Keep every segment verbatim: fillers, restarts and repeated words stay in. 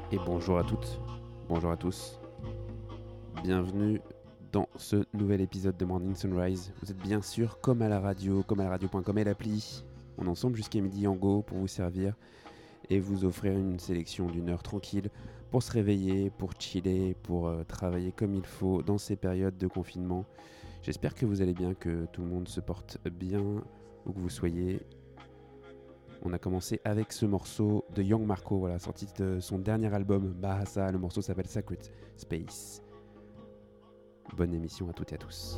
Et bonjour à toutes, bonjour à tous. Bienvenue dans ce nouvel épisode de Morning Sunrise. Vous êtes bien sûr comme à la radio, comme à la radio point com et l'appli. On est ensemble jusqu'à midi en go pour vous servir et vous offrir une sélection d'une heure tranquille pour se réveiller, pour chiller, pour euh, travailler comme il faut dans ces périodes de confinement. J'espère que vous allez bien, que tout le monde se porte bien, où que vous soyez. On a commencé avec ce morceau de Young Marco, voilà, sorti de son dernier album, Bahasa. Le morceau s'appelle Sacred Space. Bonne émission à toutes et à tous.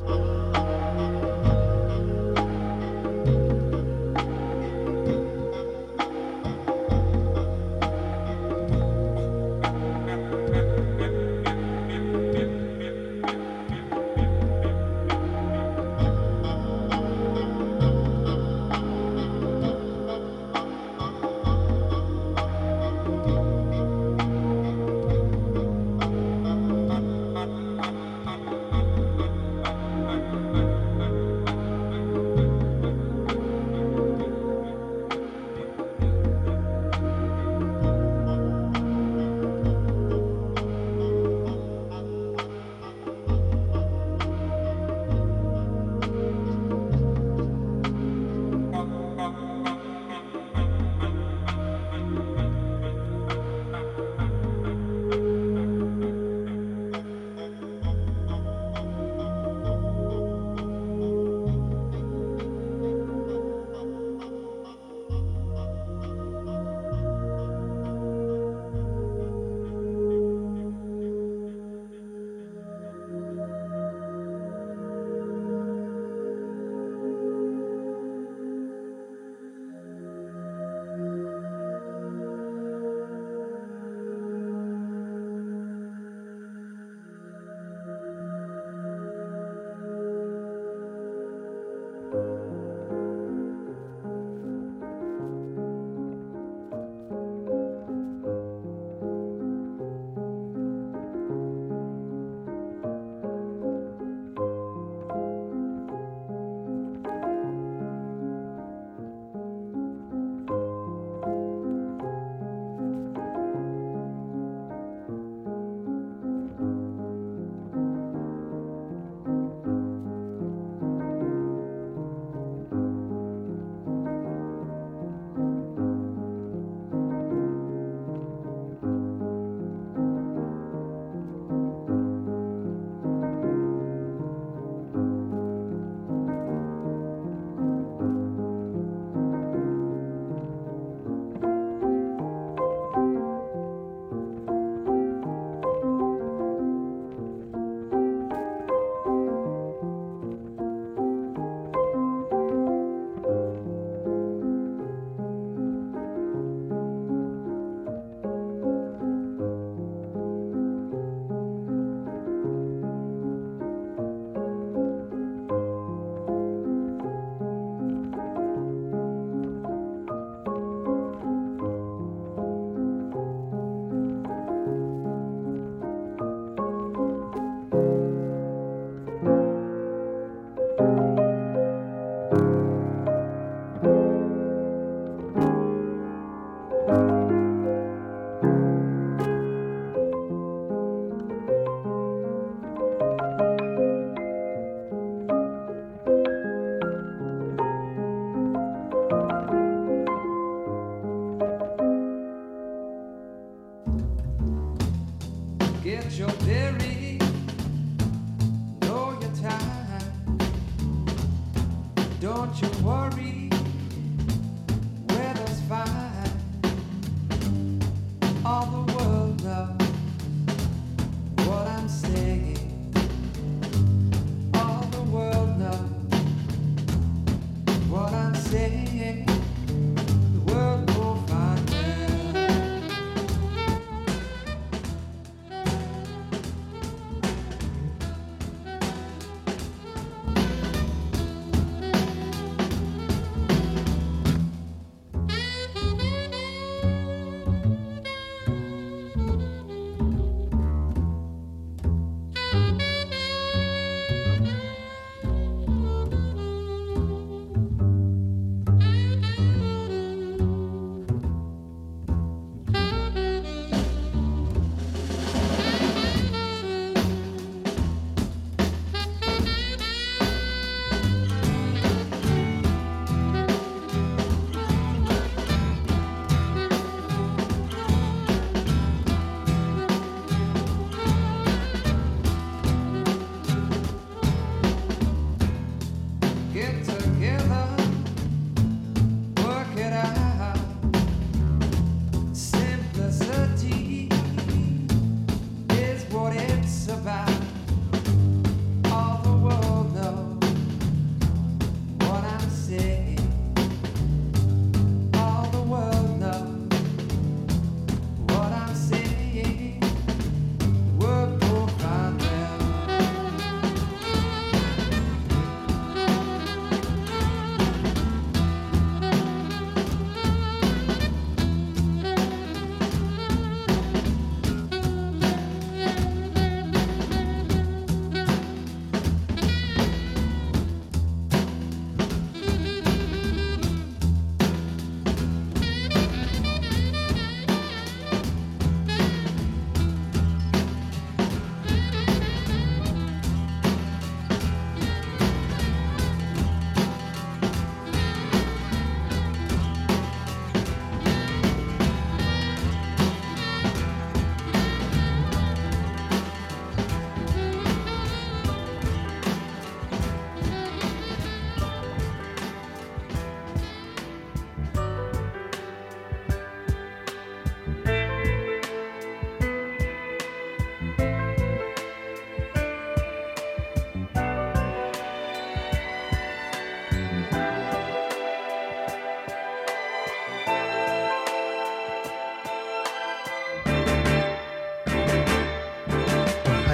Get your berry, know your time. Don't you worry, weather's fine. All the world knows what I'm saying. All the world knows what I'm saying. The world will find well.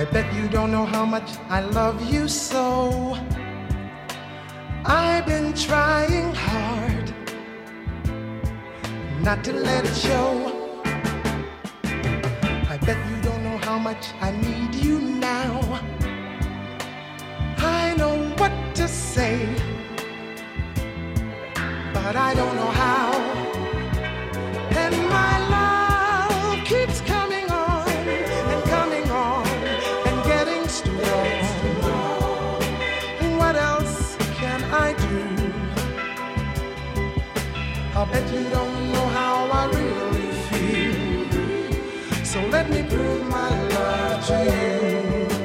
bet you don't know how much I love you so. I've been trying hard not to let it show. I bet you don't know how much I need you now. I know what to say, but I don't know how. And my love keeps coming on and coming on and getting strong. What else can I do? I bet you don't know how I really feel. So let me prove my love to you.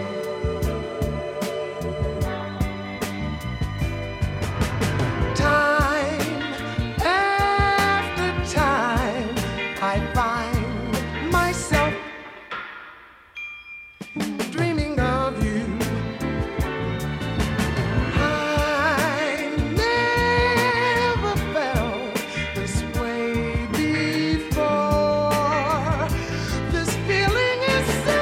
Time after time, I find myself dreaming of you. I never felt this way before. This feeling is so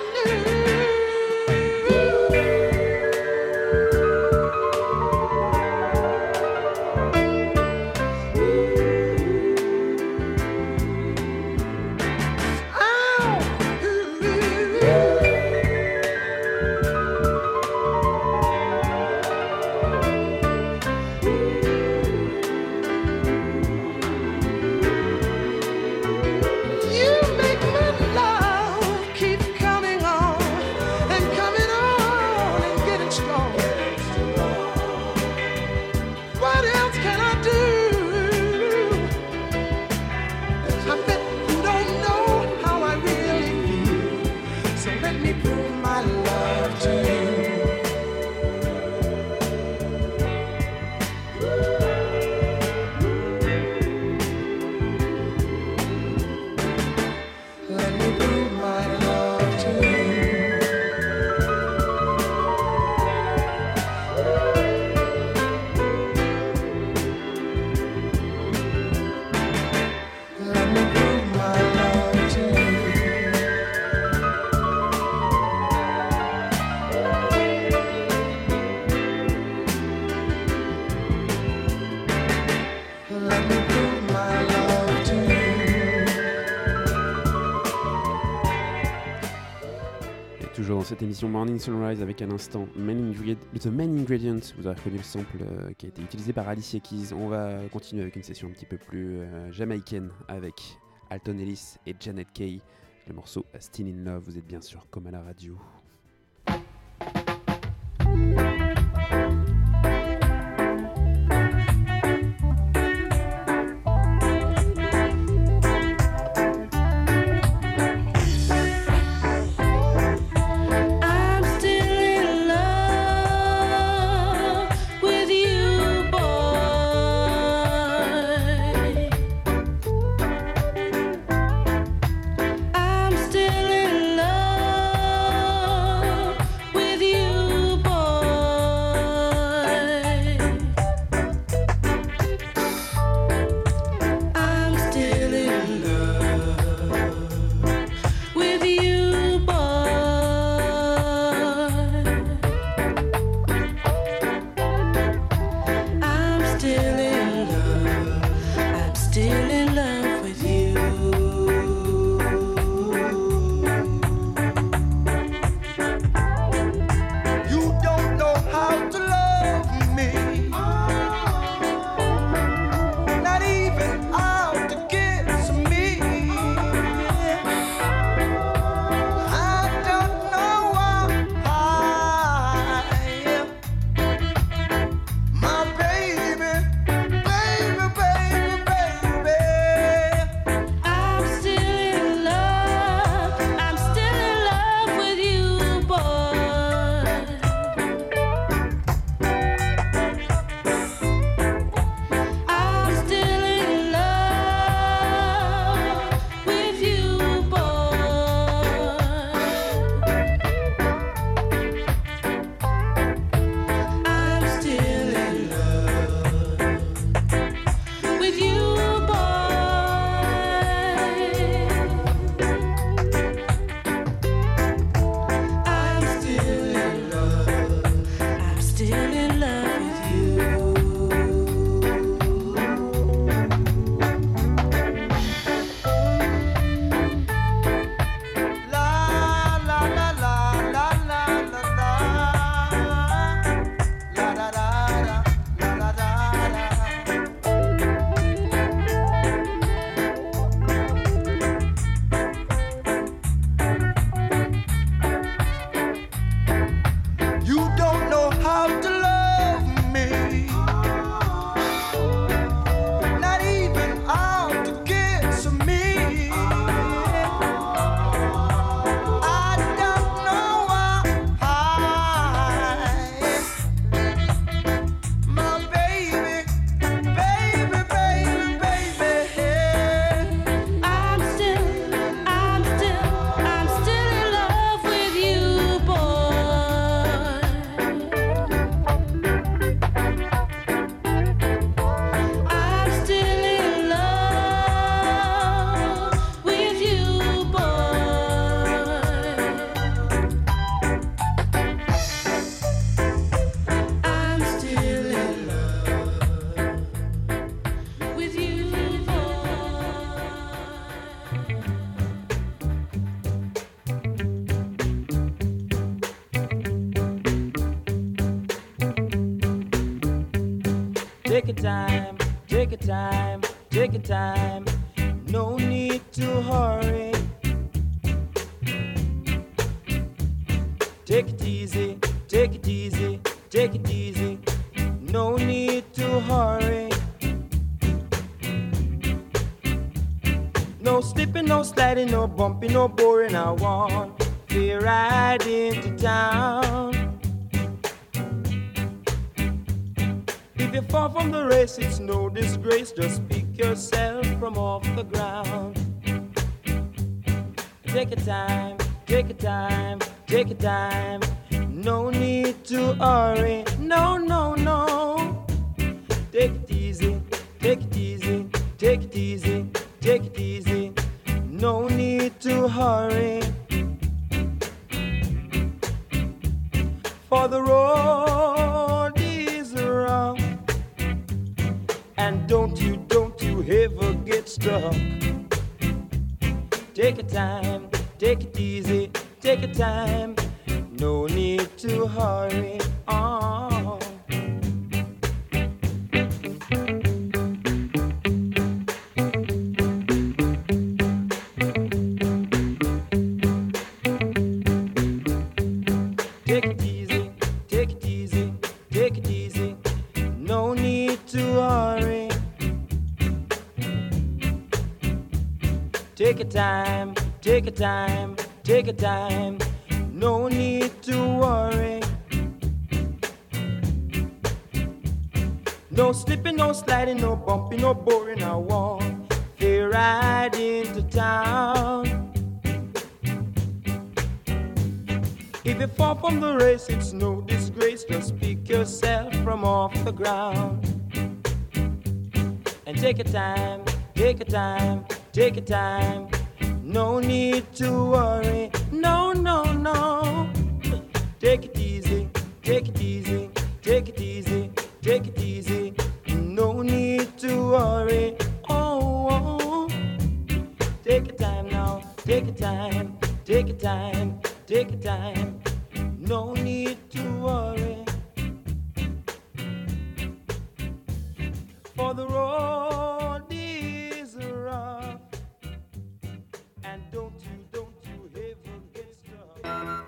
Dans cette émission Morning Sunrise avec un instant main ingred- The Main Ingredient, vous aurez reconnu le sample euh, qui a été utilisé par Alicia Keys. On va continuer avec une session un petit peu plus euh, jamaïcaine avec Alton Ellis et Janet Kay. Le morceau Still in Love, vous êtes bien sûr comme à la radio. I'm still in love. Take your time, take your time, take your time. No need to hurry. Take it easy, take it easy, take it easy. No need to hurry. No slipping, no sliding, no bumping, no boring. I want to ride into town. If you fall from the race, it's no disgrace. Just pick yourself from off the ground. Take your time, take your time, take your time. No need to hurry. No, no, no. Take it easy, take it easy, take it easy, take it easy. No need to hurry. For the road is rough. And don't you, don't you ever get stuck. Take your time, take it easy, take your time. No need to hurry on. Take it easy, take it easy, take it easy. No need to hurry. Take your time, take your time, take your time. No need to worry. No slipping, no sliding, no bumping, no boring. I want to ride into town. If you fall from the race, it's no disgrace. Just pick yourself from off the ground. And take your time, take your time, take your time. No need to worry. No, no, no. Take it easy, take it easy, take it easy, take it easy. No need to worry. Oh, oh. Take your time now, take your time, take your time, take your time. No need to worry. For the road is rough. And don't you, don't you ever get stuck.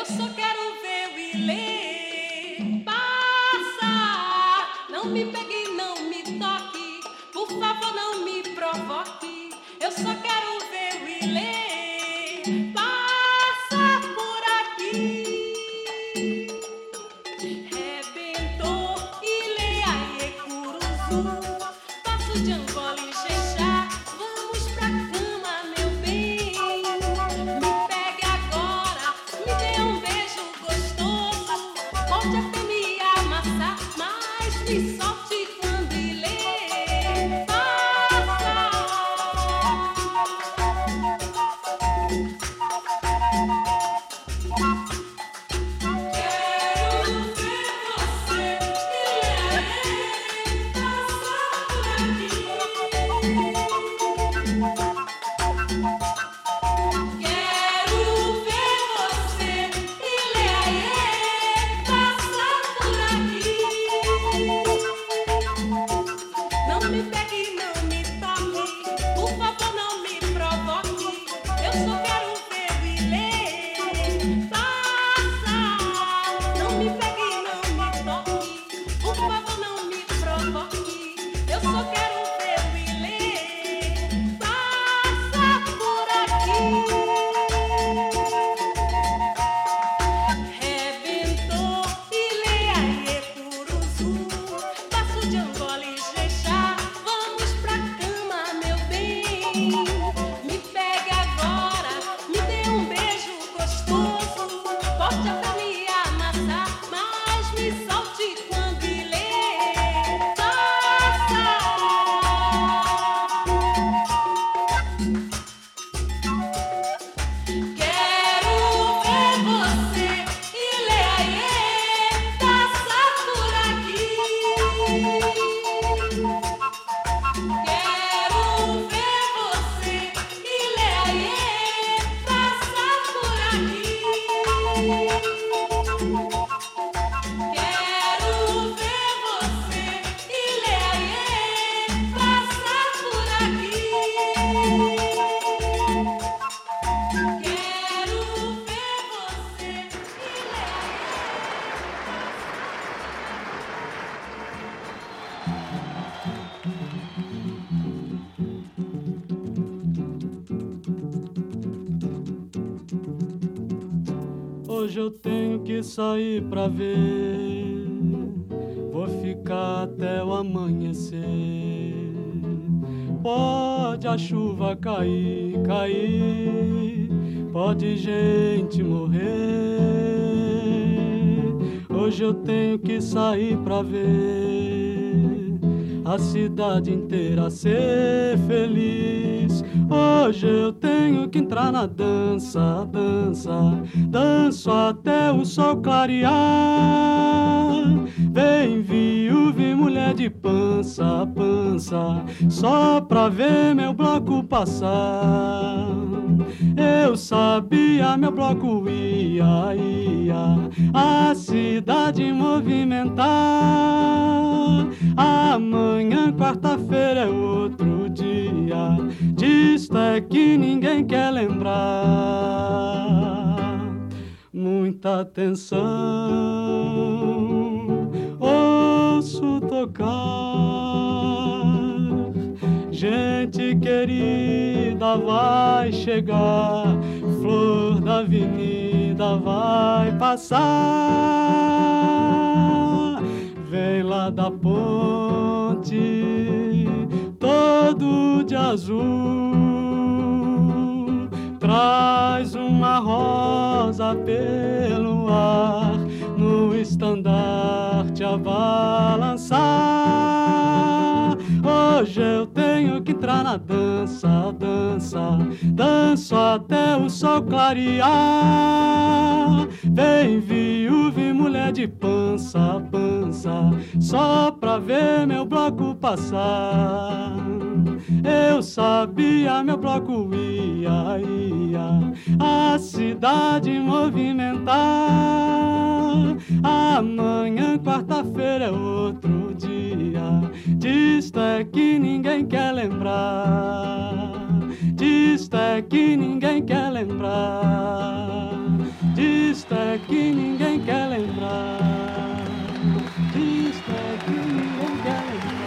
só quero ver o Ilê passar. Não me pegue, não me toque, por favor não me provoque. Eu só quero ver o Ilê passar por aqui. Rebentou Ilê, aie, Curuzu, passo de Angola e Xexá. Vamos pra cama, meu bem. Me pegue agora, me dê um beijo gostoso. Pode até me amassar, mas me solte quando Ilê passar. Quero ver você, Ilê, passar por aqui. Quero ver você, Ilê, passar por aqui. Não me pegue, não me toque, por favor não me provoque. Eu só quero ver o Ilê passar. Não me pegue, não me toque, por favor não me provoque. Eu só quero ver o Ilê passar por aqui. Rebentou Ilê, aie, Curuzu, passo de Angola e Xexá. Vamos pra cama, meu bem. Me pegue agora, me dê um beijo gostoso. Pode até me amassar, mas me solte quando Ilê passar. Quero ver você, Ilê, aie, passar por aqui. Quero ver você, Ilê, aie, passar por aqui. Quero ver você, Ilê, aie, passar por aqui. Quero ver você, Ilê. Hoje eu tenho que sair pra ver, vou ficar até o amanhecer. Pode a chuva cair, cair, pode gente morrer. Hoje eu tenho que sair pra ver a cidade inteira ser feliz. Hoje eu tenho que entrar na dança, dança, danço até o sol clarear. Vem viúva e mulher de pança, pança, só pra ver meu bloco passar. Eu sabia, meu bloco ia, ia a cidade movimentar. Amanhã, quarta-feira, é outro dia, disto é que ninguém quer lembrar. Muita atenção, ouço tocar. Gente querida vai chegar, flor da avenida vai passar. Vem lá da ponte, todo de azul, traz uma rosa pelo ar, no estandarte a balançar. Hoje eu tenho que entrar na dança, dança, danço até o sol clarear. Vem viúva e mulher de pança, pança, só pra ver meu bloco passar. Eu sabia, meu bloco ia, ia a cidade movimentar. Amanhã, quarta-feira, é outro dia, disto é que ninguém quer lembrar. Disto é que ninguém quer lembrar. Disto Disto é que ninguém quer lembrar. Disto é que ninguém quer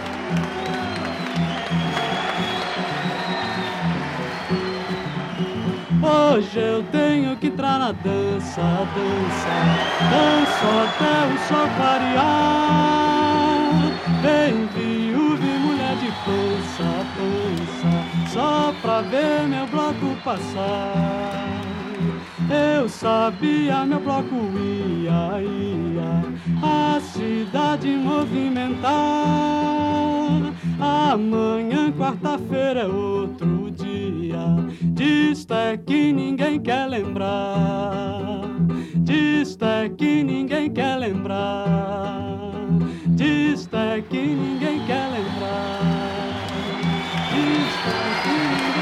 lembrar. Hoje eu tenho que entrar na dança, dança, danço até o sol clarear. Vem viúva e mulher de pança, pança, só pra ver meu bloco passar. Eu sabia, meu bloco ia, ia a cidade movimentar. Amanhã, quarta-feira, é outro dia. Disto é que ninguém quer lembrar. Disto é que ninguém quer lembrar. Disto é que ninguém quer lembrar. Disto é que ninguém quer lembrar.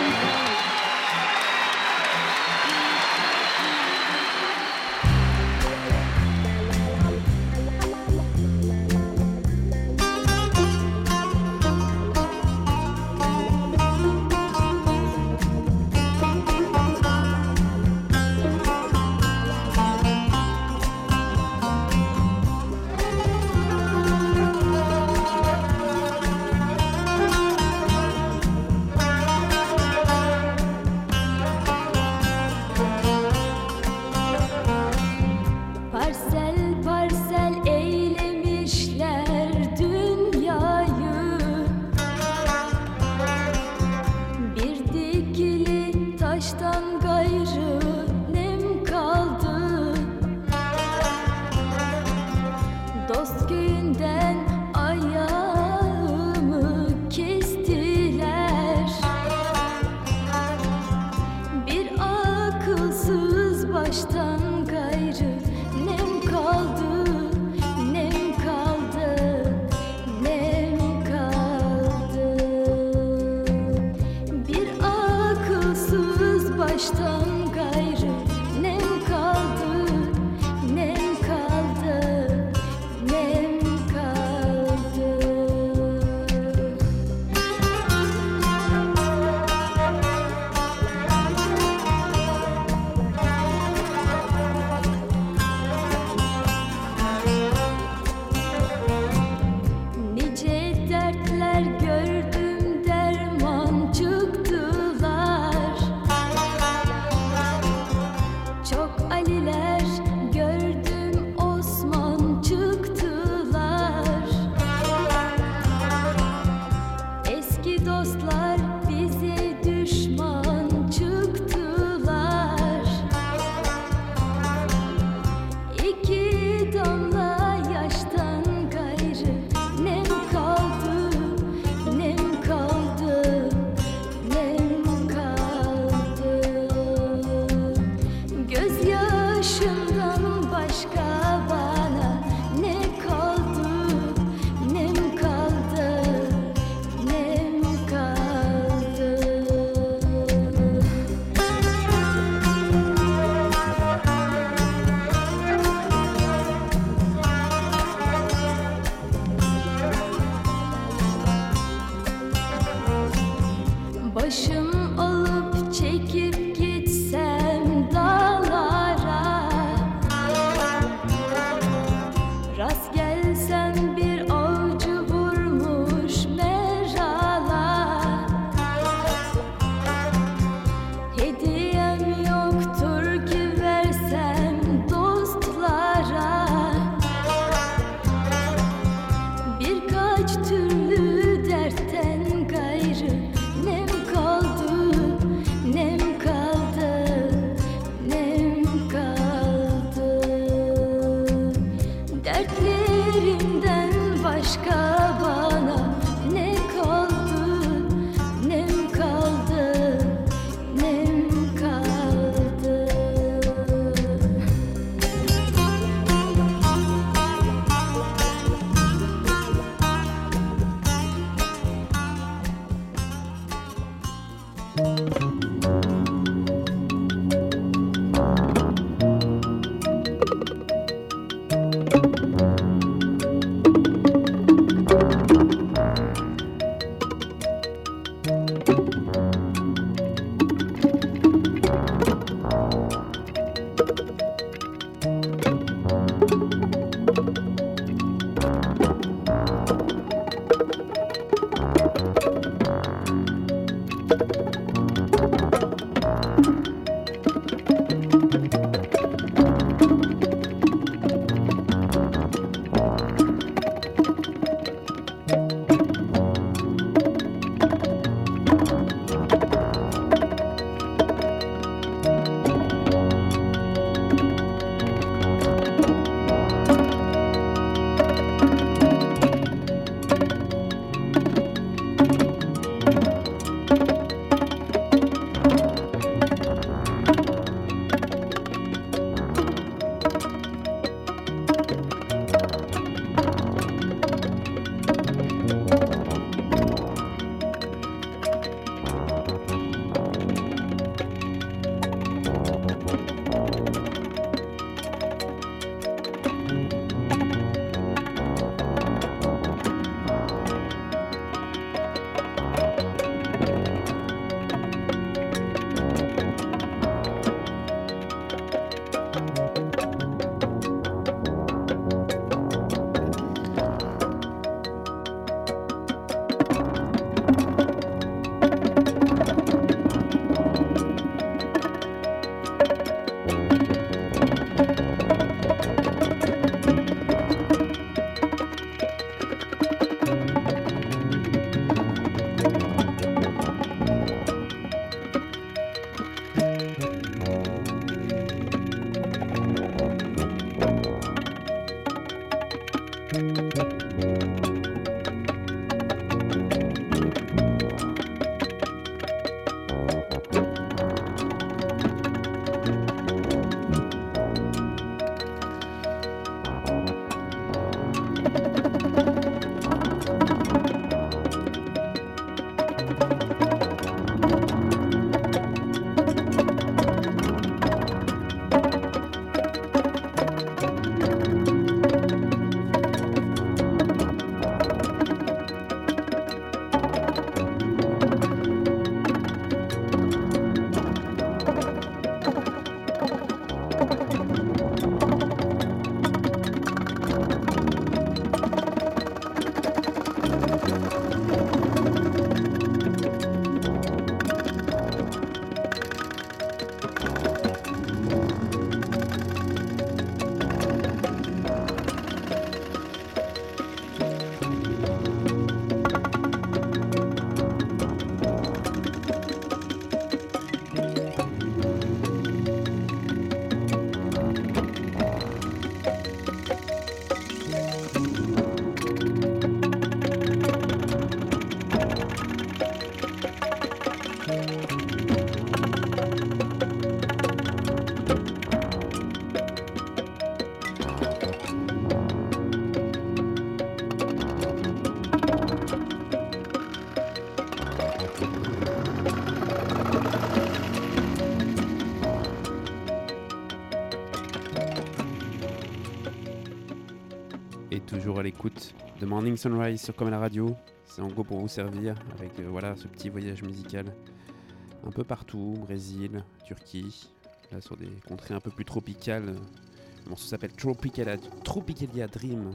Toujours à l'écoute de Morning Sunrise sur Comme à la radio. C'est en gros pour vous servir avec euh, voilà, ce petit voyage musical un peu partout, Brésil, Turquie, là sur des contrées un peu plus tropicales. Le morceau s'appelle Tropicalia, Tropicalia Dream.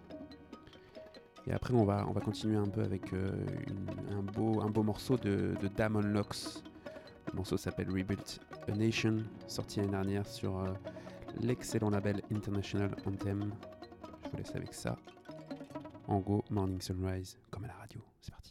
Et après on va, on va continuer un peu avec euh, une, un, beau, un beau morceau de, de Damon Locks. Le morceau s'appelle Rebuilt a Nation, sorti l'année dernière sur euh, l'excellent label International Anthem. Je vous laisse avec ça. En go, Morning Sunrise, comme à la radio. C'est parti.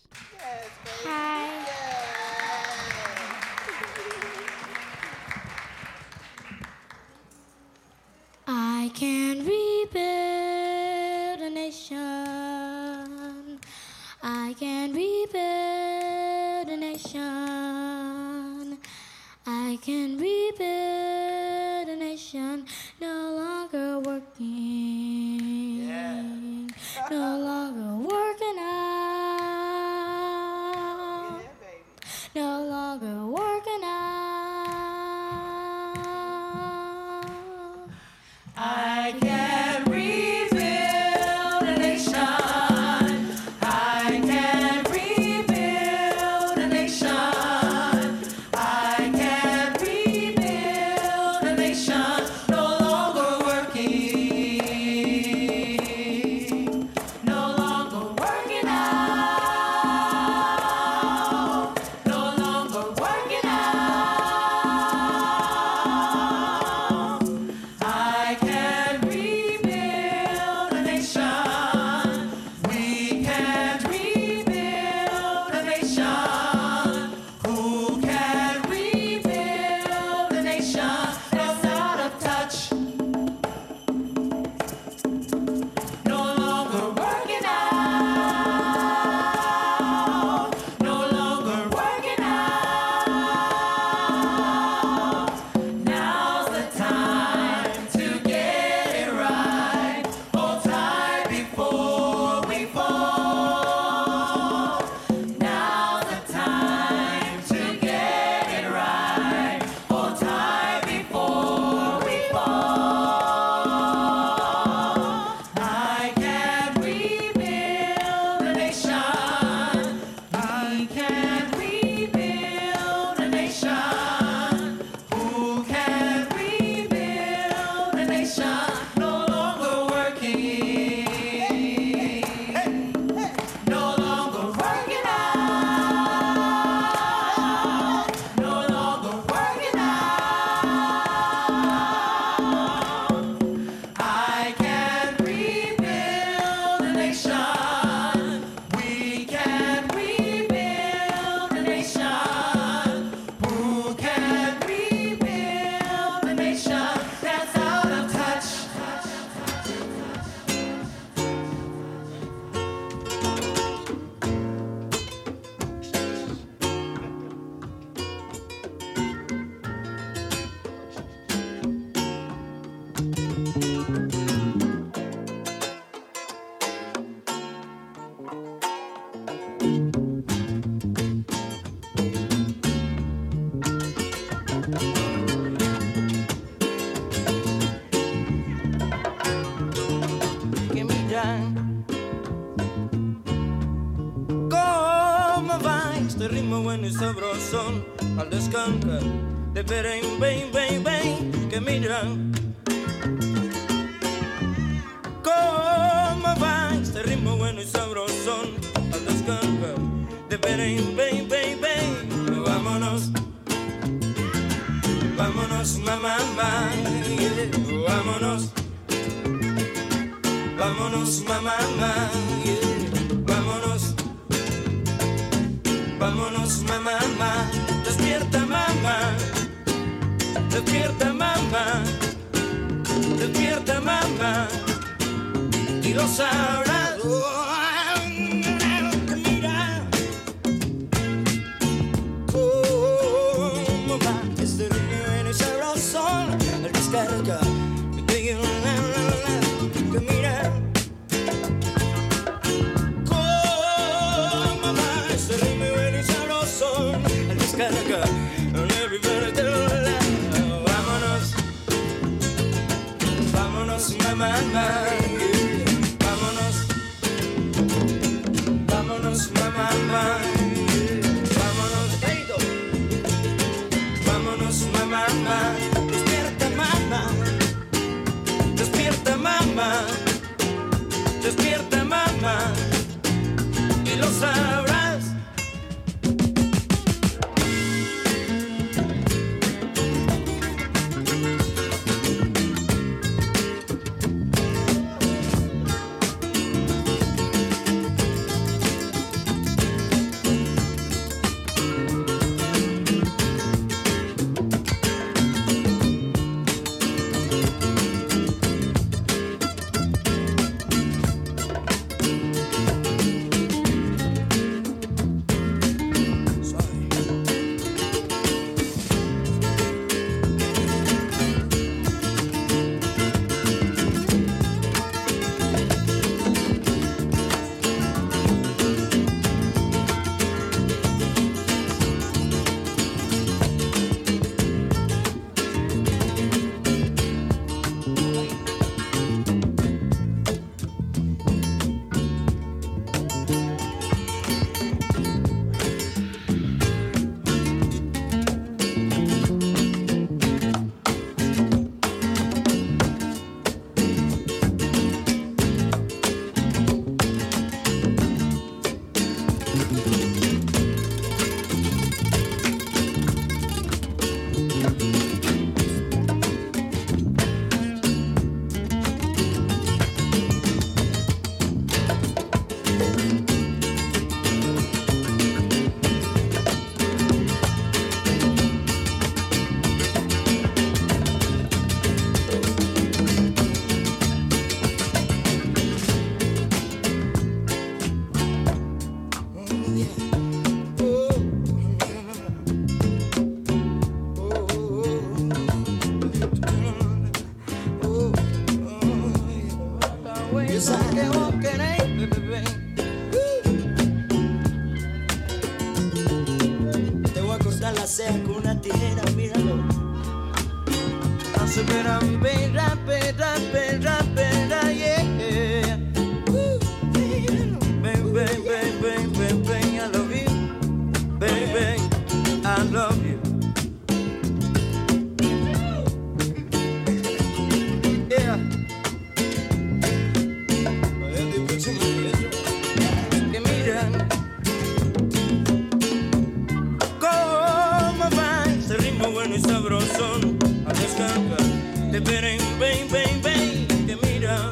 I can rebuild a nation. I can rebuild a nation. I can rebuild a nation. No longer working. Yeah. No longer working out. Yeah, baby. No longer working out. I can rebuild a nation. I can rebuild a nation. I can rebuild a nation. No longer working. No longer working out. No longer working out. I can rebuild. the nation, no longer working. No longer working out. No longer working out. I can rebuild the nation. We can rebuild the nation. Who can rebuild the nation that's out of touch? Que miran cómo va este ritmo bueno y sabrosón al descancar de beren, ven, ven, ven, que miran cómo va este ritmo bueno y sabrosón al descancar de beren, ven, ven, ven, vámonos, vámonos, mamá, mamá, yeah, vámonos. Vámonos, mamá, mamá, yeah. Vámonos, vámonos, mamá, mamá. Despierta, mamá, despierta, mamá, despierta, mamá, y lo sabrás. Oh, mira cómo va este ritmo y sabroso al descarga. Que mira cómo va este ritmo y sabroso al descarga. Vámonos, vámonos, mamá, mamá, yeah. Vámonos, vámonos, mamá, mamá, yeah. Vámonos, Heido. Vámonos, mamá, mamá, despierta, mamá, despierta, mamá, despierta, mamá, y lo sabrás. Te voy a cortar la ceja con una tijera, míralo. Espera, espera, espera, espera, espera, yeah. Baby, baby, baby, baby, I love you. Baby, I love you. ven, ven, ven, ven, que mira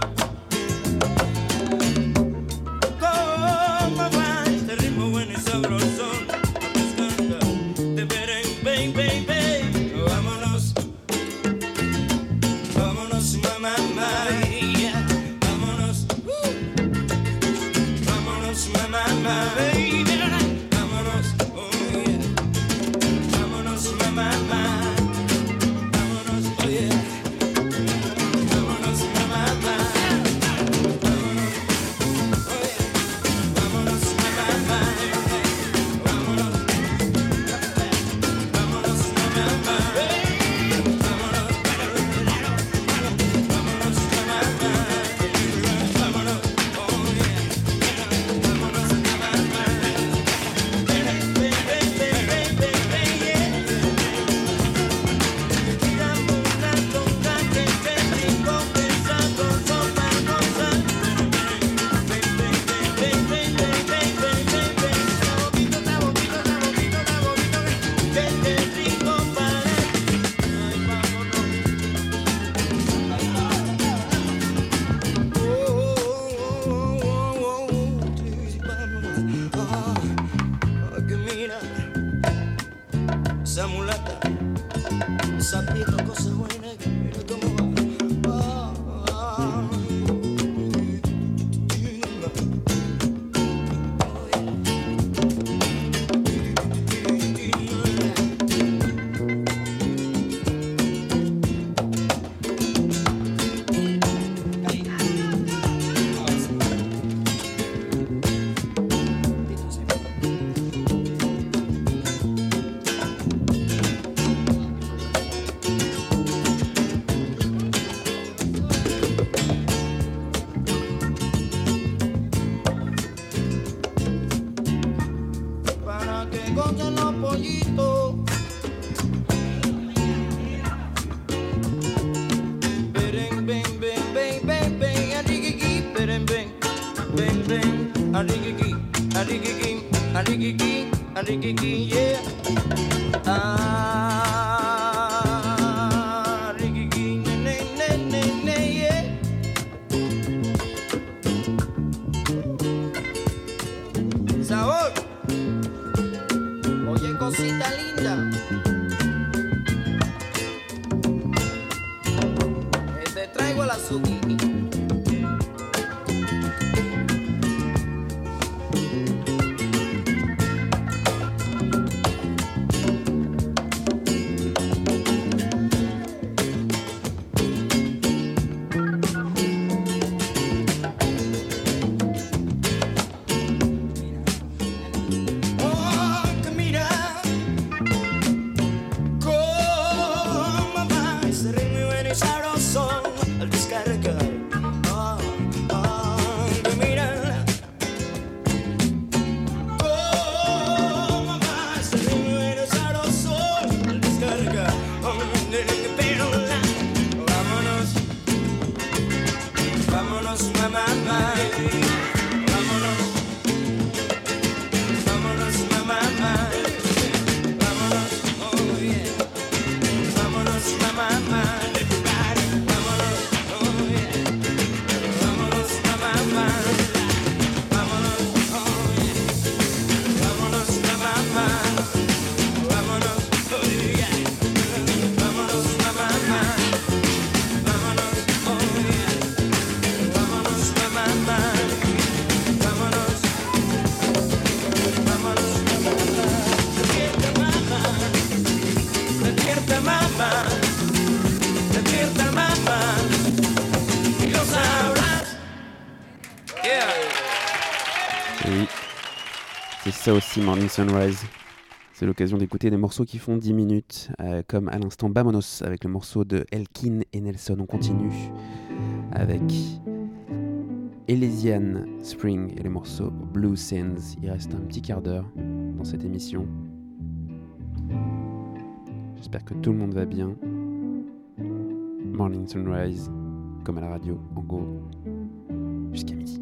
cómo va este ritmo bueno y sabroso. De ven, ven, ven, ven, vámonos, vámonos, mamá, mamá, yeah. Vámonos, uh. Vámonos, mamá, mamá, baby. Vámonos, oh yeah. Vámonos, mamá, mamá. Vámonos, oh yeah. Vámonos, mamá, mamá. Vámonos, oh yeah. Vámonos, mamá, mamá. Vámonos, vámonos, mamá, mamá. Vámonos, vámonos, mamá, mamá. Vámonos, oh yeah. Vámonos, mamá, mamá. Ven, ven, ven, ven, ven, ven, ven, yeah. Tiramos una conga que te rico pensando sopa gozar. Ven, ven, ven, ven, ven, ven, ven, ven, ven, ven. Está bonito, está bonito, está bonito, está bonito. Que te rico para. Ay, vámonos. Oh, oh, oh, oh, oh, sí, vámonos. Ah, ah, que mira, esa mulata, esa pieza, cosa buena, que mira cómo va. Ah, ah, para que gocen los pollitos. Beren, ven, ven, ven, ven, ven, arriquiqui, beren, ven, ven, ven, arriquiqui, arriquiqui, arriquiqui, arriquiqui, yeah. Ah, arriquiqui, ne, ne, ne, ne, ne, yeah. Sabor. Oye, cosita linda. Eh, Te traigo el azúcar. Oh, que mira cómo va ese ritmo bueno y sabroso al descargar. Oh, oh, que mira cómo va ese ritmo bueno y sabroso al descargar. Oh, pero la, vámonos, vámonos, mamá, mamá. Vámonos. Vámonos, mamá, mamá. Vámonos, oh yeah. Vámonos, mamá, mamá. Vámonos, oh yeah. Vámonos, mamá, mamá. Vámonos, oh yeah. Vámonos, mamá, mamá. Vámonos, oh yeah. Vámonos, mamá, mamá. Vámonos, oh yeah. Vámonos, mamá, mamá. Vámonos. Vámonos, despierta mamá, despierta mamá, despierta mamá, y lo sabrás. Yeah. Et oui, c'est ça aussi Morning Sunrise. C'est l'occasion d'écouter des morceaux qui font dix minutes, euh, comme à l'instant Vamonos avec le morceau de Elkin et Nelson. On continue avec Elysian Spring et le morceau Blue Sands. Il reste un petit quart d'heure dans cette émission. J'espère que tout le monde va bien. Morning Sunrise, comme à la radio, en go, jusqu'à midi.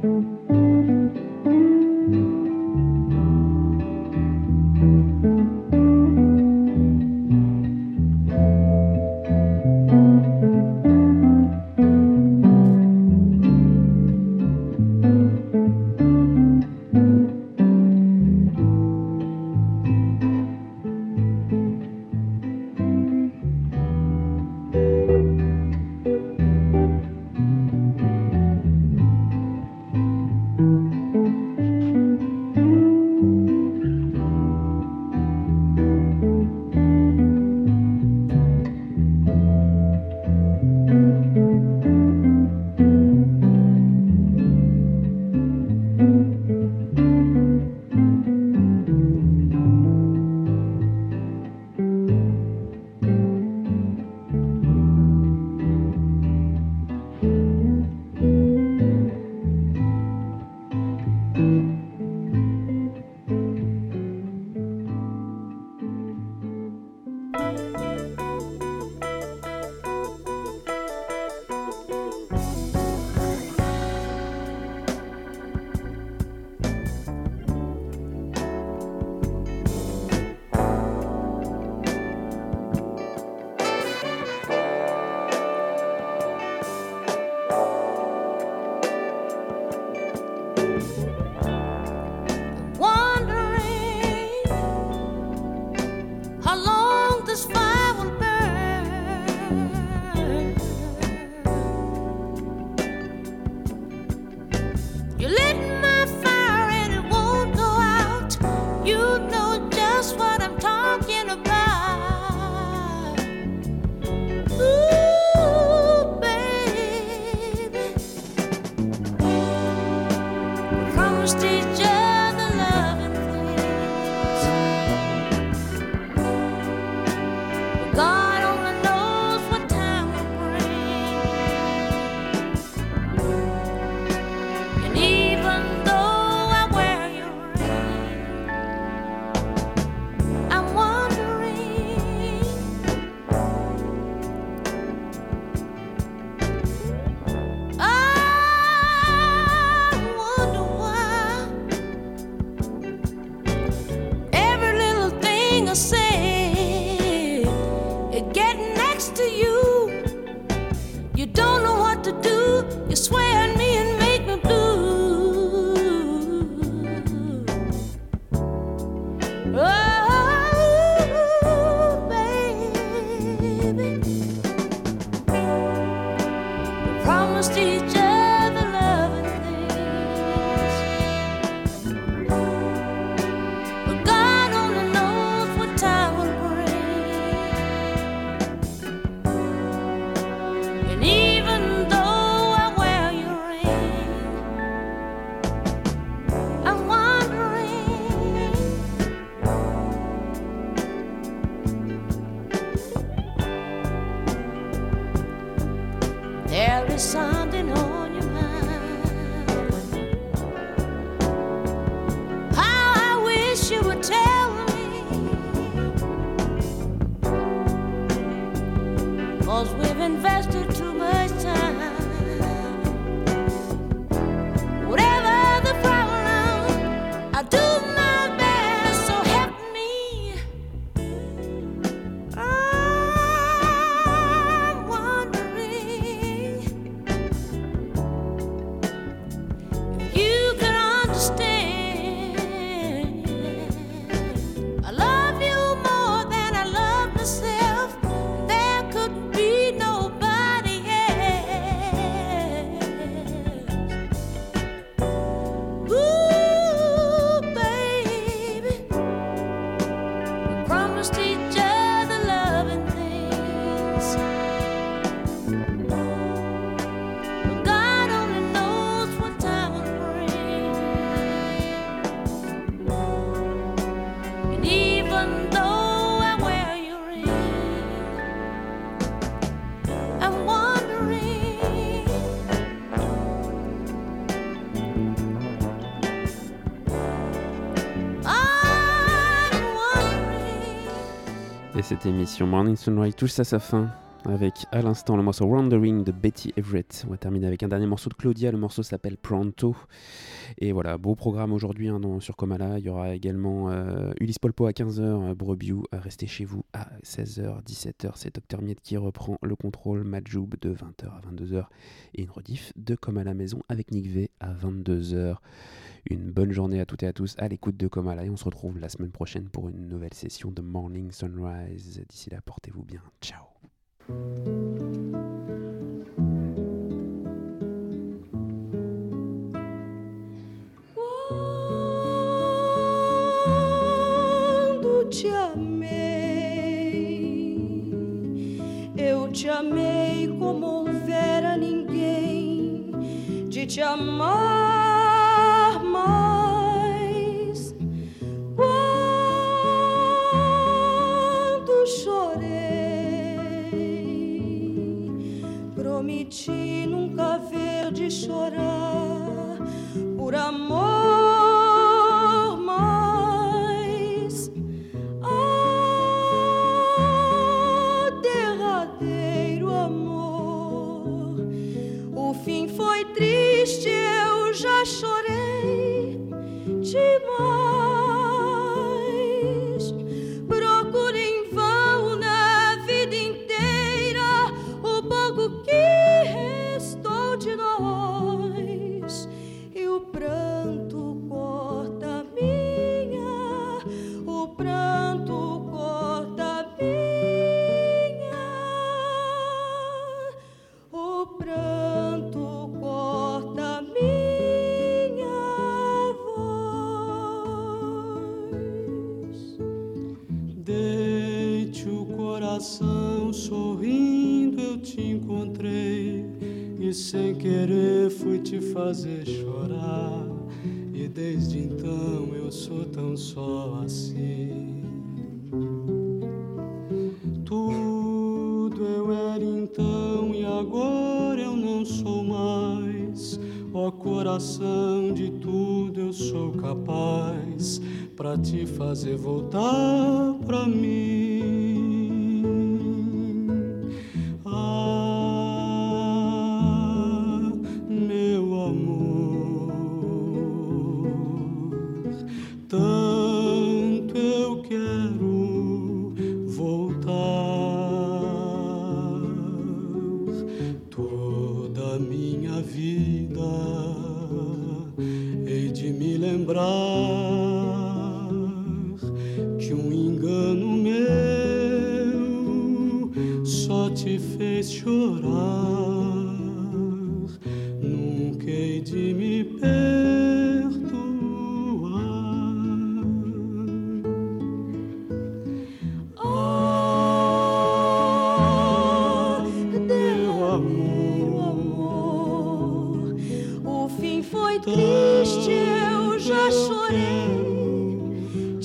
Cette émission Morning Sunrise touche à sa fin. avec à l'instant le morceau Wandering de Betty Everett. On va terminer avec un dernier morceau de Claudia, le morceau s'appelle Pronto. Et voilà, beau programme aujourd'hui hein, dans, sur Comala. Il y aura également euh, Ulysse Polpo à quinze heures, euh, Brobiou, euh, restez chez vous à seize heures, dix-sept heures. C'est Docteur Miette qui reprend le contrôle, Majoub de vingt heures à vingt-deux heures et une rediff de Comme à la maison avec Nick V à vingt-deux heures. Une bonne journée à toutes et à tous à l'écoute de Comala et on se retrouve la semaine prochaine pour une nouvelle session de Morning Sunrise. D'ici là, portez-vous bien. Ciao. Quando te amei, eu te amei como houvera ninguém de te amar mais. Quando chorei, prometi nunca ver de chorar por amor mais. Ah, derradeiro amor, o fim foi triste, eu já chorei demais. Procuro em vão na vida inteira o pouco que restou de nós. E o pranto corta minha, o pranto corta minha, o pranto corta minha voz. Deite o coração sorrindo, eu te encontrei e sem querer fui te fazer chorar. E desde então eu sou tão só assim. Tudo eu era então e agora eu não sou mais. Ó coração, de tudo eu sou capaz pra te fazer voltar pra mim. Ah, meu amor, tanto eu quero voltar. Toda a minha vida hei de me lembrar que um engano meu só te fez chorar. Nunca hei de me perdoar. Ah, Meu amor, o fim foi triste, eu já chorei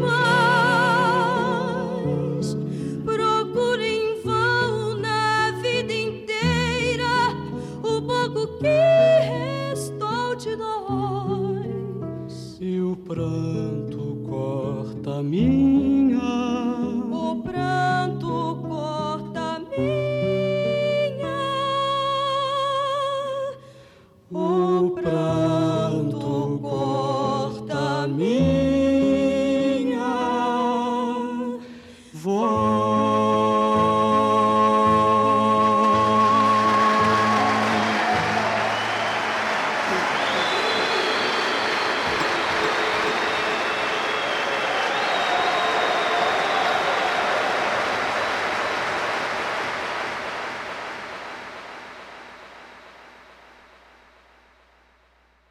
demais. Procuro em vão na vida inteira o pouco que restou de nós. E o pranto corta a minha